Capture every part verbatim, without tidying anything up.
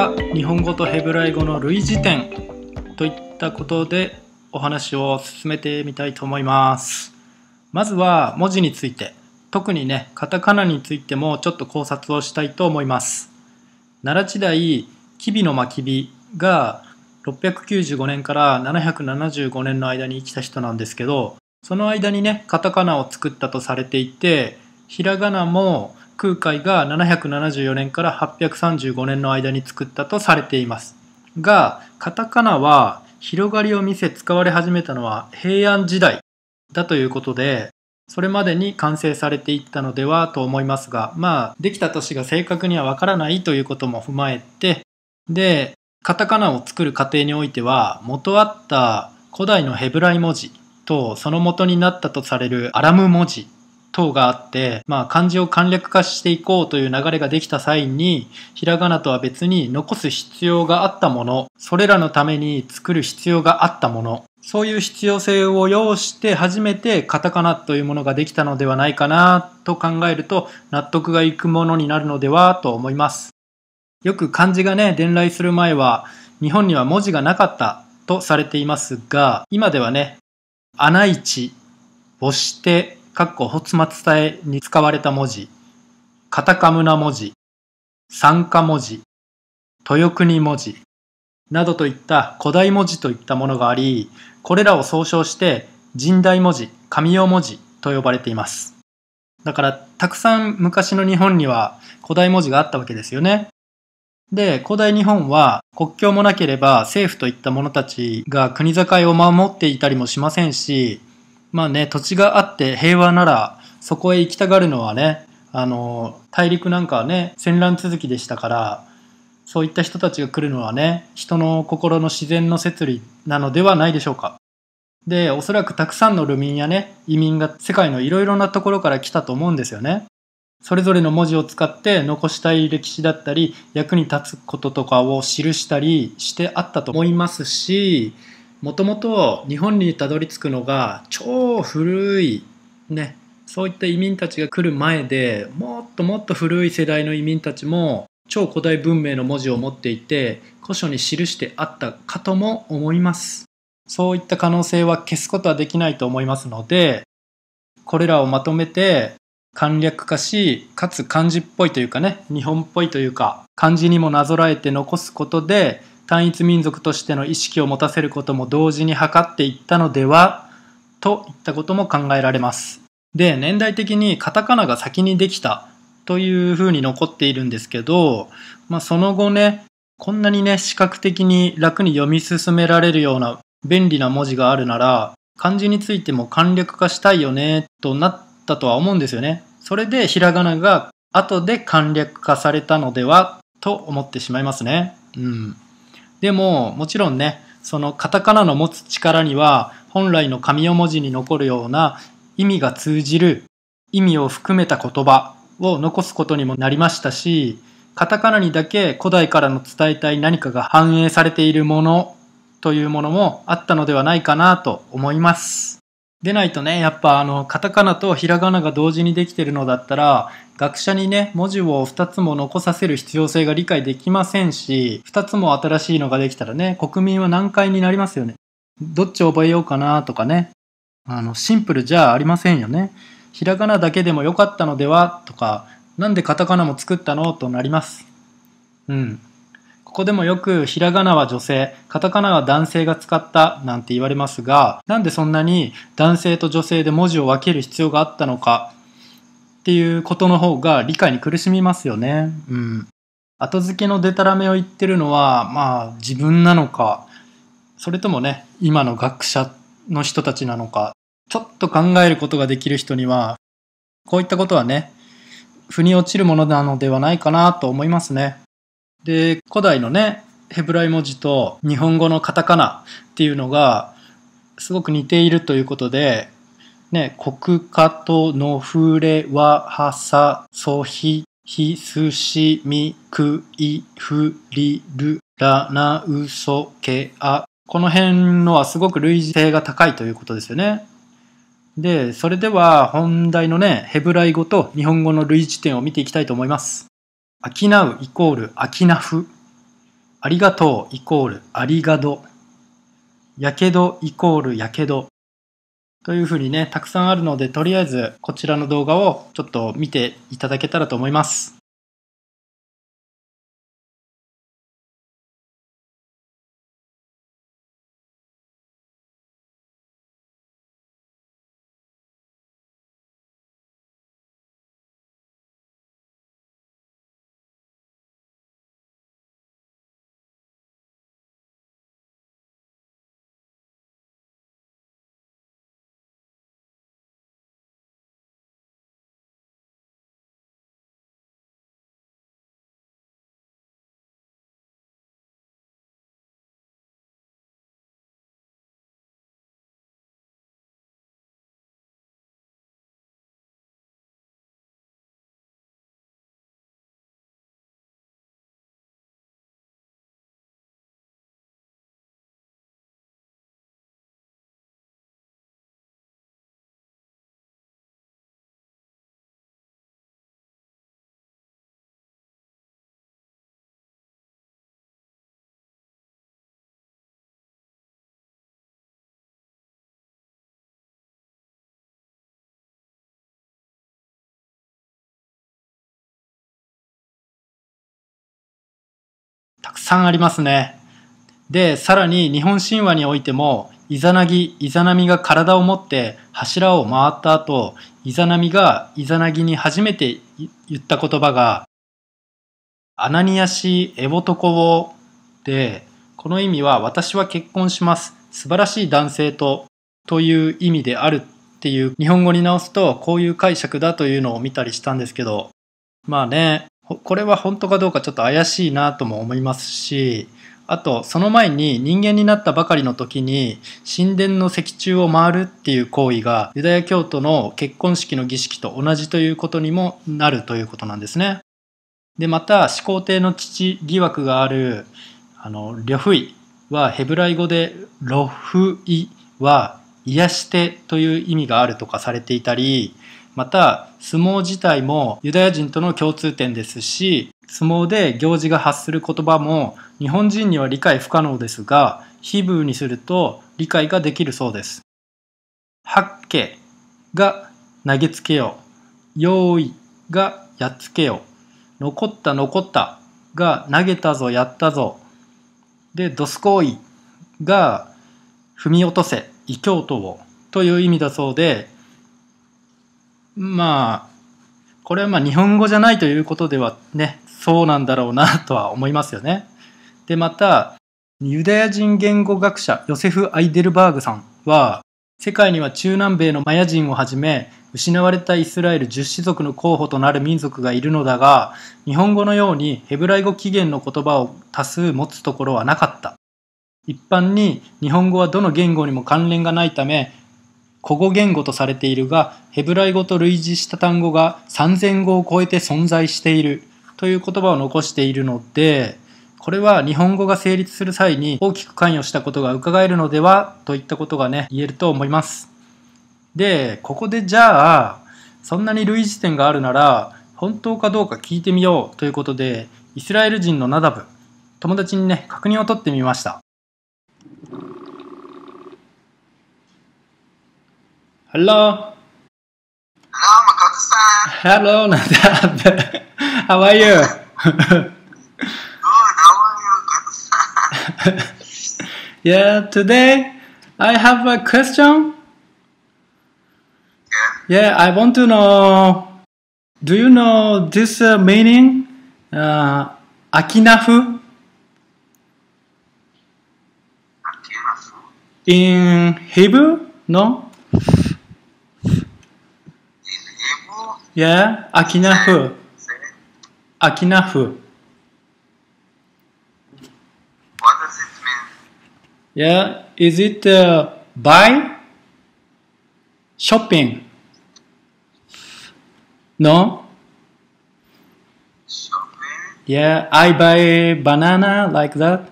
は日本語とヘブライ語の類似点といったことでお話を進めてみたいと思います。まずは文字について、特にねカタカナについてもちょっと考察をしたいと思います。奈良時代、吉備の真備がろっぴゃくきゅうじゅうごねんからななひゃくななじゅうごねんの間に生きた人なんですけど、その間にねカタカナを作ったとされていて、ひらがなも空海がななひゃくななじゅうよねんからはっぴゃくさんじゅうごねんの間に作ったとされていますが、カタカナは広がりを見せ使われ始めたのは平安時代だということで、それまでに完成されていったのではと思いますが、まあできた年が正確にはわからないということも踏まえて、でカタカナを作る過程においては、元あった古代のヘブライ文字とその元になったとされるアラム文字等があって、まあ、漢字を簡略化していこうという流れができた際に、ひらがなとは別に残す必要があったもの、それらのために作る必要があったもの、そういう必要性を要して初めてカタカナというものができたのではないかなと考えると、納得がいくものになるのではと思います。よく漢字がね伝来する前は日本には文字がなかったとされていますが、今ではね穴一、母子手、かっこ発末体に使われた文字、カタカムナ文字、酸化文字、豊国文字などといった古代文字といったものがあり、これらを総称して神代文字、神代文字と呼ばれています。だからたくさん昔の日本には古代文字があったわけですよね。で、古代日本は国境もなければ政府といった者たちが国境を守っていたりもしませんし、まあね、土地があって平和ならそこへ行きたがるのはね、あの大陸なんかはね戦乱続きでしたから、そういった人たちが来るのはね人の心の自然の摂理なのではないでしょうか。で、おそらくたくさんの流民やね移民が世界のいろいろなところから来たと思うんですよね。それぞれの文字を使って残したい歴史だったり役に立つこととかを記したりしてあったと思いますし、もともと日本にたどり着くのが超古いね、そういった移民たちが来る前で、もっともっと古い世代の移民たちも超古代文明の文字を持っていて古書に記してあったかとも思います。そういった可能性は消すことはできないと思いますので、これらをまとめて簡略化し、かつ漢字っぽいというかね、日本っぽいというか漢字にもなぞらえて残すことで単一民族としての意識を持たせることも同時に図っていったのではといったことも考えられます。で、年代的にカタカナが先にできたというふうに残っているんですけど、まあ、その後ねこんなにね視覚的に楽に読み進められるような便利な文字があるなら、漢字についても簡略化したいよねとなったとは思うんですよね。それでひらがなが後で簡略化されたのではと思ってしまいますね。うんでももちろんね、そのカタカナの持つ力には本来の紙代文字に残るような意味が通じる意味を含めた言葉を残すことにもなりましたし、カタカナにだけ古代からの伝えたい何かが反映されているものというものもあったのではないかなと思います。でないとね、やっぱあのカタカナとひらがなが同時にできているのだったら、学者にね文字をふたつも残させる必要性が理解できませんし、ふたつも新しいのができたらね国民は難解になりますよね。どっちを覚えようかなとかね、あのシンプルじゃありませんよね。ひらがなだけでもよかったのではとか、なんでカタカナも作ったのとなります。うんここでもよくひらがなは女性、カタカナは男性が使ったなんて言われますが、なんでそんなに男性と女性で文字を分ける必要があったのかっていうことの方が理解に苦しみますよね。うん。後付けのデタラメを言ってるのはまあ自分なのか、それともね今の学者の人たちなのか、ちょっと考えることができる人にはこういったことはね腑に落ちるものなのではないかなと思いますね。で、古代のねヘブライ文字と日本語のカタカナっていうのがすごく似ているということでね、国家とのふれわはさそひひすしみくいふりるらなうそけあ、この辺のはすごく類似性が高いということですよね。で、それでは本題のねヘブライ語と日本語の類似点を見ていきたいと思います。商うイコール商ふ。 ありがとうイコールありがど。やけどイコールやけど。というふうにね、たくさんあるので、とりあえずこちらの動画をちょっと見ていただけたらと思います。たくさんありますね。で、さらに日本神話においても、イザナギ、イザナミが体を持って柱を回った後、イザナミがイザナギに初めて言った言葉が、アナニヤシエボトコウで、この意味は私は結婚します。素晴らしい男性と、という意味であるっていう日本語に直すとこういう解釈だというのを見たりしたんですけど、まあね、これは本当かどうかちょっと怪しいなとも思いますし、あとその前に人間になったばかりの時に神殿の石柱を回るっていう行為がユダヤ教徒の結婚式の儀式と同じということにもなるということなんですね。でまた始皇帝の父疑惑があるあの呂不韋はヘブライ語でロフイは癒してという意味があるとかされていたり、また相撲自体もユダヤ人との共通点ですし、相撲で行司が発する言葉も日本人には理解不可能ですが、ヒブーにすると理解ができるそうです。ハッケが投げつけよ、用意がやっつけよ、残った残ったが投げたぞやったぞ、でドスコイが踏み落とせ異教徒をという意味だそうで、まあこれはまあ日本語じゃないということではね、そうなんだろうなとは思いますよね。でまたユダヤ人言語学者ヨセフ・アイデルバーグさんは、世界には中南米のマヤ人をはじめ失われたイスラエル十氏族の候補となる民族がいるのだが、日本語のようにヘブライ語起源の言葉を多数持つところはなかった。一般に日本語はどの言語にも関連がないため古語言語とされているが、ヘブライ語と類似した単語がさんぜんごを超えて存在しているという言葉を残しているので、これは日本語が成立する際に大きく関与したことが伺えるのではといったことがね、言えると思います。で、ここでじゃあそんなに類似点があるなら本当かどうか聞いてみようということで、イスラエル人のナダブ友達にね確認を取ってみました。Hello. Hello, Makoto-san. Hello, Nadab. How are you? Good, how are you, Makoto-san? Yeah, today I have a question. Yeah. Yeah, I want to know, do you know this uh, meaning? Uh, Akinafu Akinafu. in Hebrew? No? In Hebrew, Yeah, Akinafu. say, Akinafu. what does it mean? Yeah, is it uh, buy? Shopping? No? Shopping? Yeah, I buy banana like that.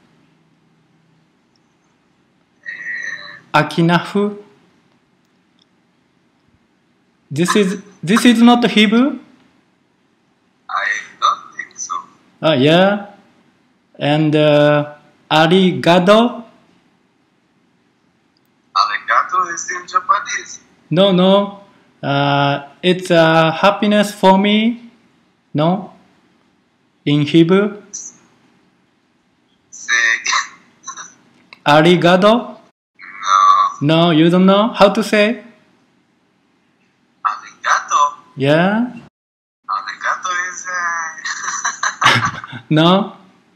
Akinafu. This is this is not Hebrew. I don't think so. Ah, yeah. And uh, arigato? Arigato is in Japanese. No, no. Uh, it's uh, happiness for me. No? In Hebrew? Say again. Arigato? No. No, you don't know how to say? Arigato. Yeah? Arigato is uh, No?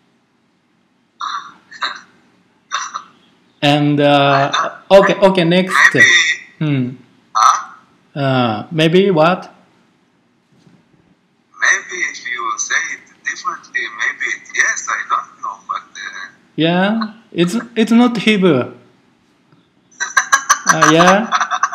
And uh, okay, okay, next. maybe. Hmm. Huh? Uh, maybe what? Maybe if you say it differently, maybe it, yes, I don't know, but uh, Yeah, it's it's not Hebrew. Uh, yeah,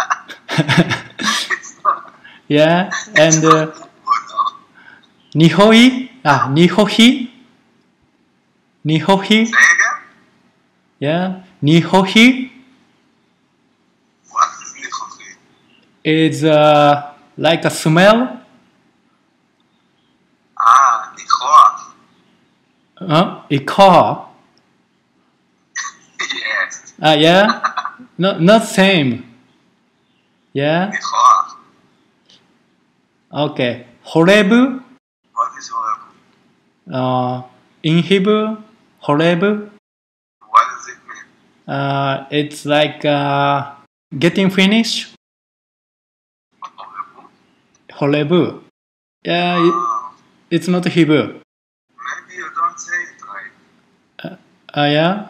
it's not. yeah, and uh, Good, no. Nihoi? Ah, Nihohi? Nihohi? Say again. Yeah, Nihohi What is Nihohi? is uh, like a smell. Ah, Nihoa. Uh, a car. Yes. Ah, yeah, no, not same. Yeah, Nihoa. okay. Horebu? What is horrible? Uh, in Hebrew, Horebu. What does it mean? Uh, it's like uh, getting finished. Horrible. Horebu. Yeah, it, Ah, it's not Hebrew. maybe you don't say it right. Uh, yeah.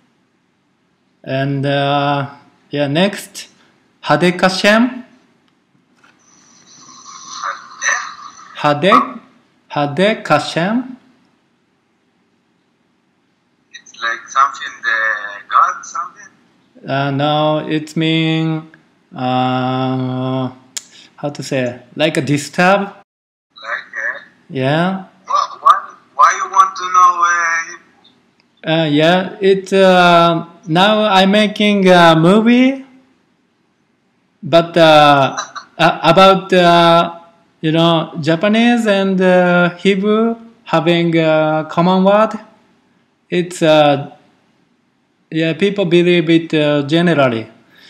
And uh, yeah, next. Hadekashem. Eh? Hadek. Hadekashem. It's like something the God, something. Uh, no, it means uh, how to say, like a disturb. Like, eh? Yeah. Why, why, why you want to know uh, Uh, yeah, it uh, now I'm making a movie, but uh, uh, about uh, you know Japanese and uh, Hebrew having a common word. It's uh, yeah, people believe it uh, generally.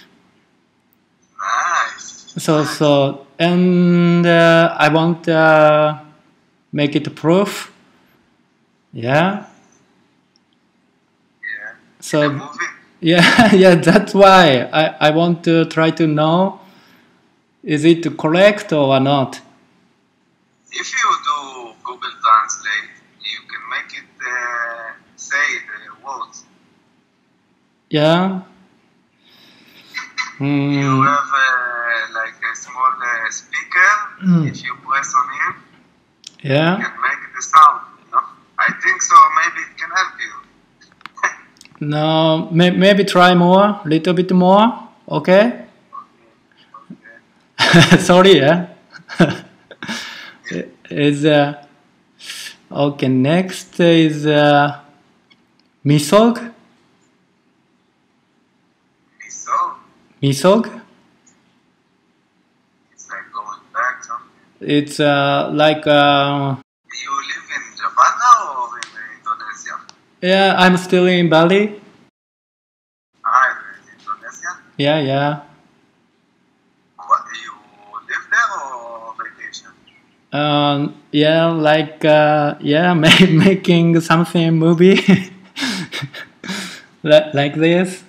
nice? So so and uh, I want uh, make it proof. Yeah. Yeah. So The movie? yeah, yeah, that's why I, I want to try to know is it correct or not. If you do Google Translate, you can make it uh, say the words. Yeah. You Hmm. have uh, like a small uh, speaker. Mm. If you press on him, you Yeah. can make the sound. You know? I think so. Maybe it can help you. No, may, maybe try more, little bit more. Okay. Okay. Sorry, yeah. is uh, okay. Next is uh, misog. So Misog. it's like going back something. It's uh, like uh, You live in Japan now or in uh, Indonesia? yeah. I'm still in Bali. Ah, you're in Indonesia. Yeah, yeah. What, you live there or vacation? Um, yeah, like uh, yeah, ma- making something movie like like this.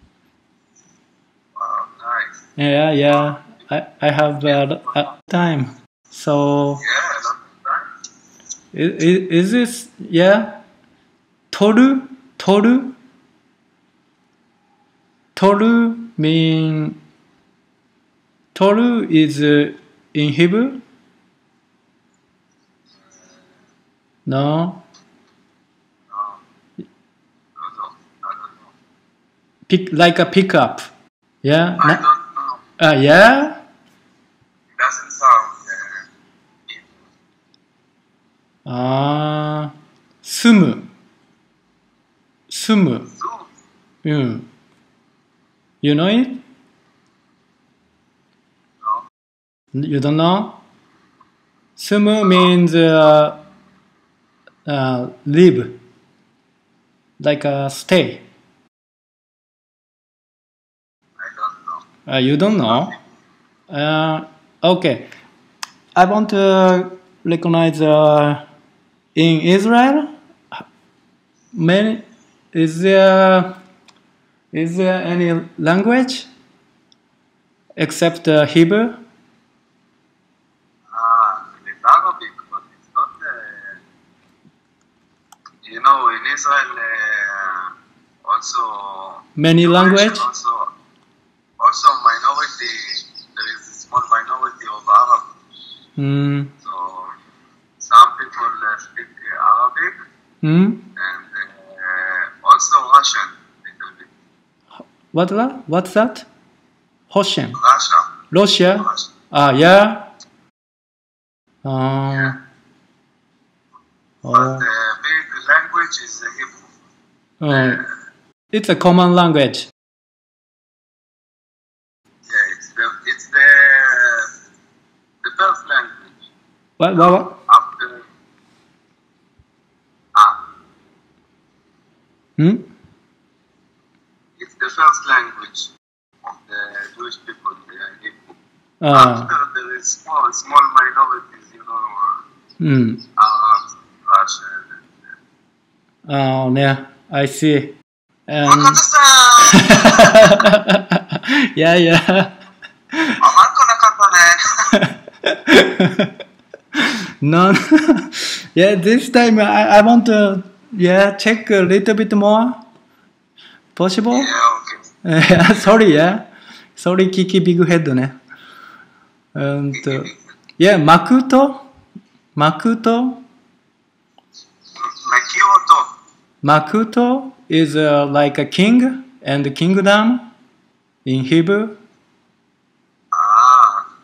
Wow, nice. Yeah, yeah. I I have uh, uh, time. So Yeah, a lot of time. is, is this yeah? Toru, toru, toru mean toru is uh, in Hebrew. No, No, no, no, I don't know. pick like a pickup. Yeah. I Na- don't know. uh, yeah. It doesn't sound uh, Hebrew. Ah, sumu, sumu. So, Mm. You know it? no. You don't know? Sumu means uh, uh, live. like a stay? I don't know. Uh, you don't know? Uh, okay. I want to recognize uh, in Israel. Many is there is there any language except uh, Hebrew? Ah, it's Arabic, but it's not. Uh, you know, in Israel, uh, also Many you language? mentioned also also minority. There is a small minority of Arab. Hmm. So some people uh, speak uh, Arabic Hmm. and uh, also Russian little bit. What what? What's that? Hoshen. Russia. Russia. Russia. Ah, yeah. Uh, But oh. the big language is uh, Hebrew. Oh. It's a common language. Yeah, it's the it's the the first language What? What? what? after ah, Hmm? it's the first language of the Jewish people, the Hebrew. Ah. After there is small small minorities, you know, Hmm. Arabs, Russian. Oh, yeah. I see. Um, yeah, yeah. No, yeah, this time I, I want to, yeah, check a little bit more. Possible? Yeah, okay. Yeah, sorry, yeah. Sorry, Kiki Big Head ね。うんと、yeah, Makuto? Makuto? Makioto. Makuto is uh, like a king and kingdom in Hebrew. Ah,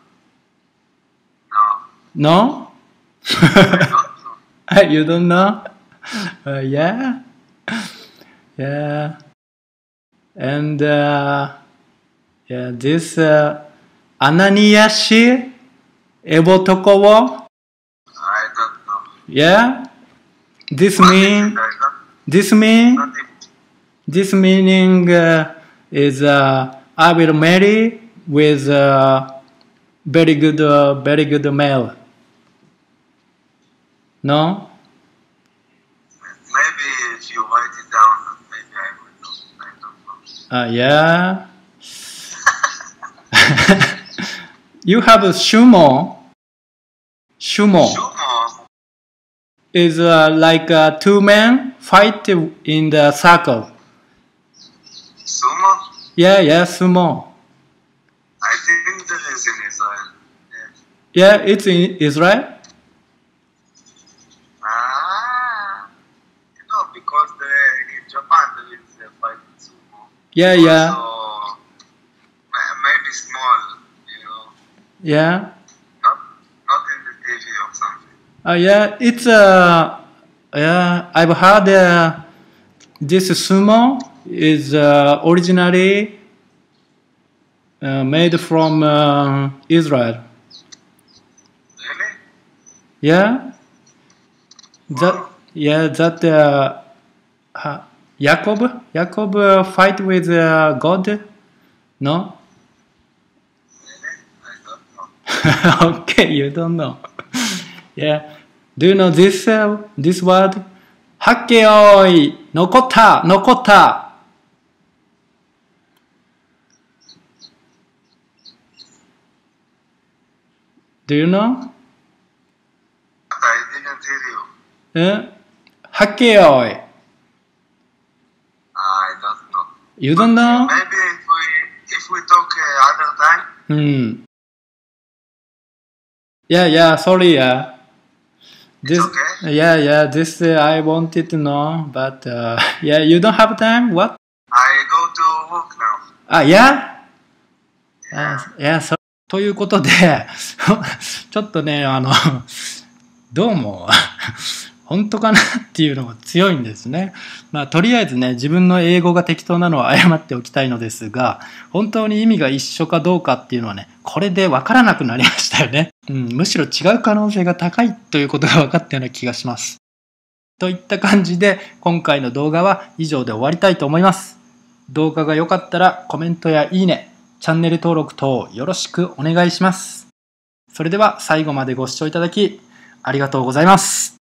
no, No? I don't know. You don't know? Uh, yeah. Yeah. And uh, yeah, this uh, Ananiyashi Ebotokowo. I don't know. Yeah. This What is mean it? I don't, this mean not even, this meaning uh, is uh, I will marry with uh, very good uh, very good male. No? maybe if you write it down, maybe I will know. I don't know. Uh, yeah. You have a sumo. Sumo Sumo. is uh, like uh, two men fight in the circle. Sumo? Yeah, yeah, sumo. I think there is in Israel. Yes. Yeah, it's in Israel. Ah, you know, because the, in Japan there is a fighting sumo. Yeah, yeah, Also, ma- maybe small, you know, yeah. not not in the T V or something. Uh, yeah, it's uh, yeah. I've heard uh, this sumo is uh, originally uh, made from uh, Israel. Really? Yeah, that Wow. yeah that uh, uh, Jacob Jacob uh, fight with uh, God. No. Really? I don't know. Okay, you don't know. Yeah. Do you know this uh, this word? 학개어이 노코타 노코타. Do you know? I didn't hear you. Uh, 학개어이. I don't know. You don't know? Maybe if we if we talk uh, other time. Hmm. Yeah, yeah. Sorry, yeah. This, It's okay. yeah, yeah. This uh, I wanted to know, but uh, yeah, you don't have time. What? I go to work now. Ah, yeah. あいやそということでちょっとねあのどうも本当かなっていうのが強いんですね。まあとりあえずね自分の英語が適当なのは謝っておきたいのですが本当に意味が一緒かどうかっていうのはねこれで分からなくなりましたよね、うん、むしろ違う可能性が高いということが分かったような気がします。 といった感じで今回の動画は以上で終わりたいと思います。動画が良かったらコメントやいいね、チャンネル登録等よろしくお願いします。それでは最後までご視聴いただきありがとうございます。